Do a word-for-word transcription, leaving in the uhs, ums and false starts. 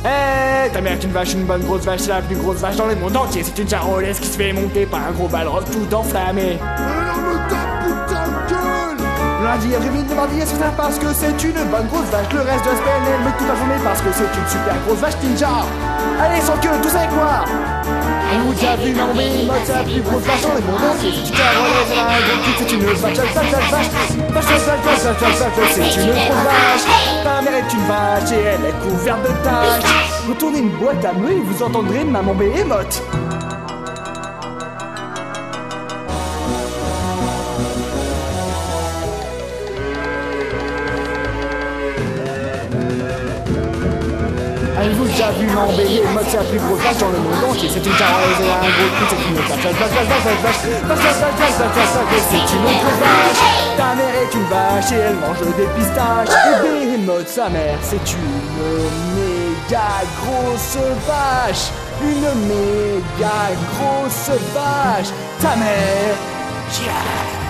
Hé, ta mère est une vache, une bonne grosse vache, c'est la plus grosse vache dans le monde entier. C'est une charolaise qui se fait monter par un gros balrog tout enflammé. Alors me tape putain de gueule. Lundi, après midi, mardi, c'est ça parce que c'est une bonne grosse vache. Le reste de la semaine, elle me toute la journée parce que c'est une super grosse vache ninja. Allez, sans queue, tous avec moi. Vous avez vu mon Behemoth, c'est la plus grosse vache dans le monde entier. C'est une charolaise, elle a un gros cul, c'est une vache, vache, vache, vache, vache. Vache, vache, vache, vache, vache, vache, vache, c'est une grosse vache. Ta mère est une vache et elle est couverte de taches. Retournez une boîte à meux et vous entendrez maman Behemoth. Avez-vous déjà vu mon Behemoth, c'est la plus grosse vache dans le monde entier. C'est une charolaise, elle a un gros cul, c'est une vache, vache, vache, vache, vache, vache, vache, vache, vache, vache, vache, vache, vache, c'est une grosse vache. Ta mère est une vache et elle mange des pistaches. Et Behemoth, sa mère, c'est une méga grosse vache. Une méga grosse vache. Ta mère, yeah.